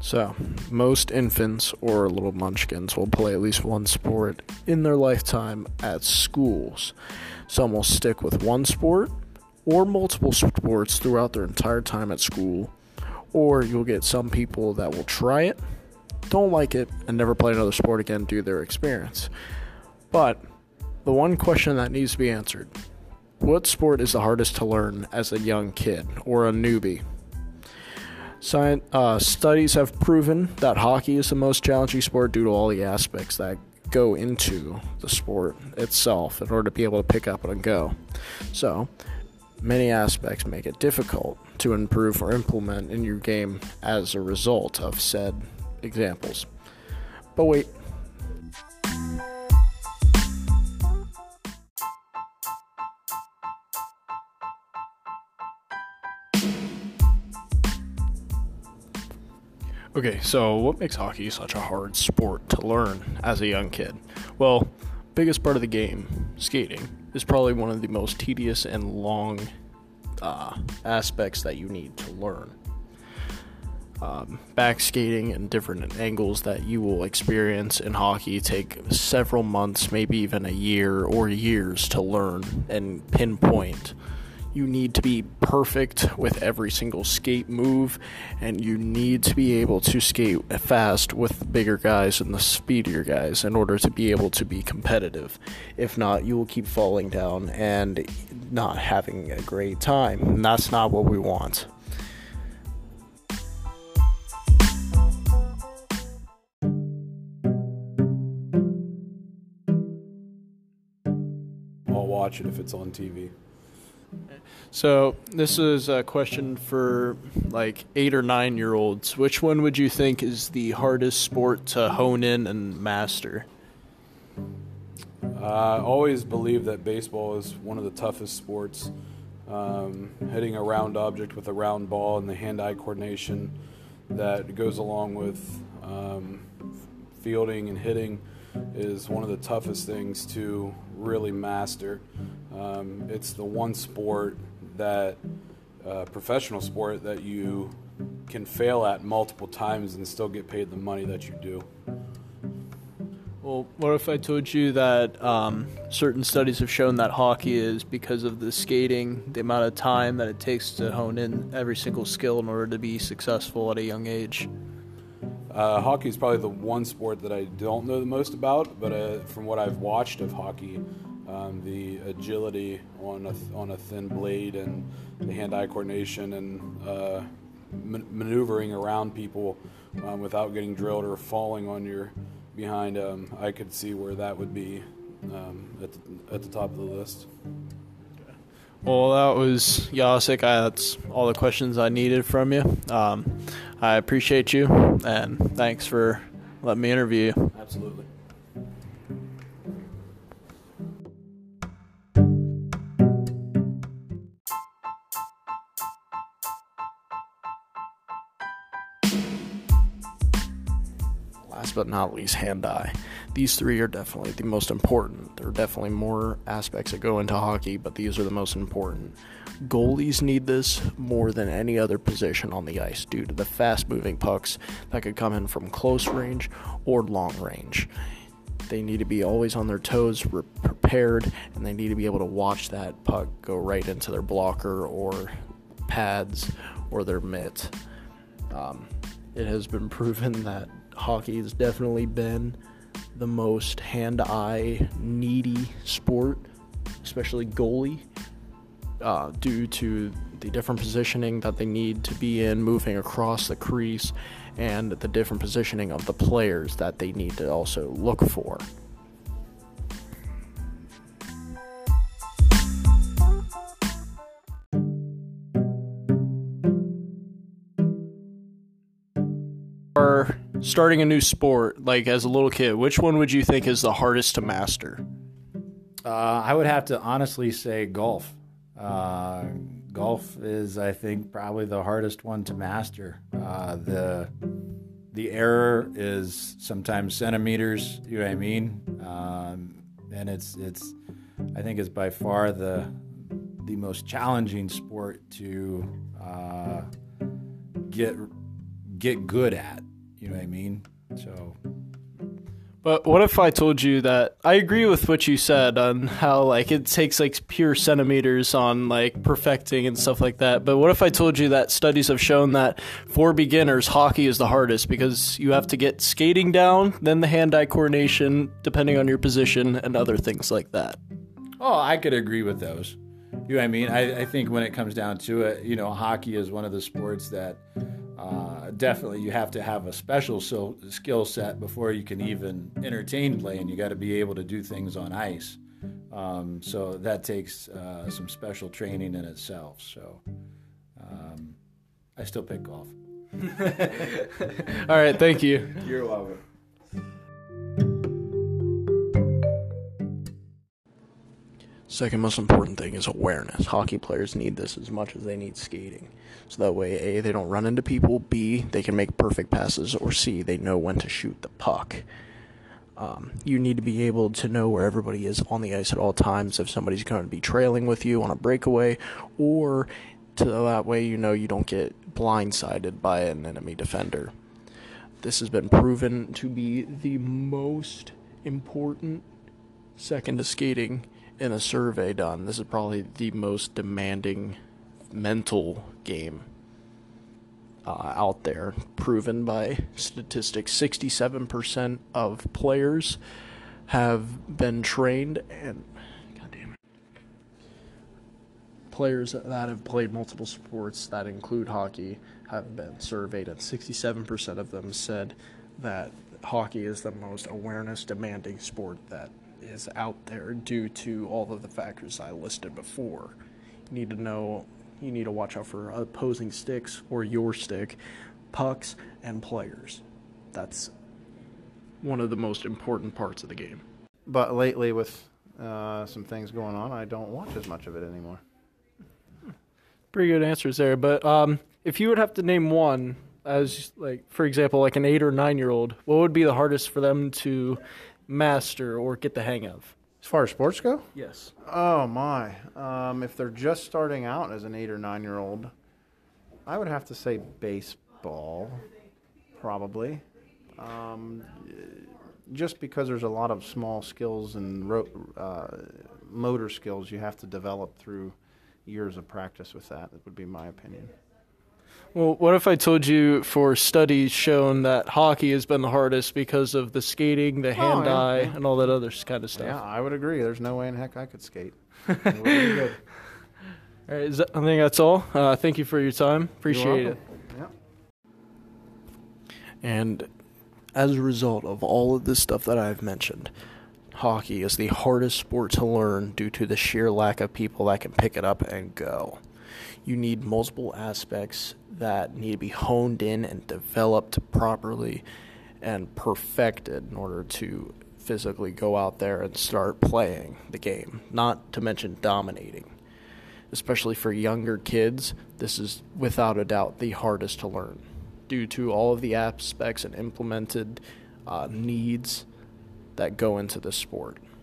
So, most infants or little munchkins will play at least one sport in their lifetime at schools. Some will stick with one sport or multiple sports throughout their entire time at school, or you'll get some people that will try it, don't like it, and never play another sport again due to their experience. But the one question that needs to be answered: what sport is the hardest to learn as a young kid or a newbie? Studies have proven that hockey is the most challenging sport due to all the aspects that go into the sport itself in order to be able to pick up and go. So, many aspects make it difficult to improve or implement in your game as a result of said examples. But wait. Okay, so what makes hockey such a hard sport to learn as a young kid? Well, biggest part of the game, skating, is probably one of the most tedious and long aspects that you need to learn. Back skating and different angles that you will experience in hockey take several months, maybe even a year or years to learn and pinpoint. You need to be perfect with every single skate move, and you need to be able to skate fast with the bigger guys and the speedier guys in order to be able to be competitive. If not, you will keep falling down and not having a great time, and that's not what we want. I'll watch it if it's on TV. So this is a question for like 8 or 9-year-olds. Which one would you think is the hardest sport to hone in and master? I always believe that baseball is one of the toughest sports. Hitting a round object with a round ball and the hand-eye coordination that goes along with fielding and hitting is one of the toughest things to really master. It's the one sport that professional sport that you can fail at multiple times and still get paid the money that you do. Well, what if I told you that certain studies have shown that hockey is, because of the skating, the amount of time that it takes to hone in every single skill in order to be successful at a young age? Hockey is probably the one sport that I don't know the most about, but from what I've watched of hockey, the agility on a thin blade and the hand-eye coordination and maneuvering around people without getting drilled or falling on your behind, I could see where that would be at the top of the list. Well, that was Jacek. That's all the questions I needed from you. I appreciate you, and thanks for letting me interview you. Absolutely. Last but not least, hand-eye. These three are definitely the most important. There are definitely more aspects that go into hockey, but these are the most important. Goalies need this more than any other position on the ice due to the fast-moving pucks that could come in from close range or long range. They need to be always on their toes, prepared, and they need to be able to watch that puck go right into their blocker or pads or their mitt. It has been proven that hockey has definitely been the most hand-eye needy sport, especially goalie, due to the different positioning that they need to be in moving across the crease and the different positioning of the players that they need to also look for. Are starting a new sport, like as a little kid, which one would you think is the hardest to master? I would have to honestly say golf. Golf is, I think, probably the hardest one to master. The error is sometimes centimeters. You know what I mean? And it's I think it's by far the most challenging sport to get good at. You know what I mean? So. But what if I told you that I agree with what you said on how like it takes like pure centimeters on like perfecting and stuff like that. But what if I told you that studies have shown that for beginners, hockey is the hardest because you have to get skating down, then the hand-eye coordination, depending on your position, and other things like that. Oh, I could agree with those. You know what I mean? I think when it comes down to it, hockey is one of the sports that definitely you have to have a special skill set before you can even entertain playing. You got to be able to do things on ice. So that takes some special training in itself. So I still pick golf. All right, thank you. You're welcome. Second most important thing is awareness. Hockey players need this as much as they need skating. So that way, A, they don't run into people, B, they can make perfect passes, or C, they know when to shoot the puck. You need to be able to know where everybody is on the ice at all times, if somebody's going to be trailing with you on a breakaway, or to that way you don't get blindsided by an enemy defender. This has been proven to be the most important, second to skating, in a survey done. This is probably the most demanding mental game out there, proven by statistics. 67% of players have been trained, and players that have played multiple sports that include hockey have been surveyed, and 67% of them said that hockey is the most awareness demanding sport that is out there due to all of the factors I listed before. You need to watch out for opposing sticks or your stick, pucks, and players. That's one of the most important parts of the game. But lately with some things going on, I don't watch as much of it anymore. Pretty good answers there. But if you would have to name one as, like, for example, like an 8 or 9-year-old, what would be the hardest for them to master or get the hang of? As far as sports go? Yes. Oh, my. If they're just starting out as an 8 or 9-year-old, I would have to say baseball, probably. Just because there's a lot of small skills and motor skills you have to develop through years of practice with that. That would be my opinion. Well, what if I told you for studies shown that hockey has been the hardest because of the skating, the hand-eye, and all that other kind of stuff? Yeah, I would agree. There's no way in heck I could skate. It would be good. All right, I think that's all. Thank you for your time. Appreciate it. Yep. And as a result of all of this stuff that I've mentioned, hockey is the hardest sport to learn due to the sheer lack of people that can pick it up and go. You need multiple aspects that need to be honed in and developed properly and perfected in order to physically go out there and start playing the game, not to mention dominating. Especially for younger kids, this is without a doubt the hardest to learn due to all of the aspects and implemented needs that go into the sport.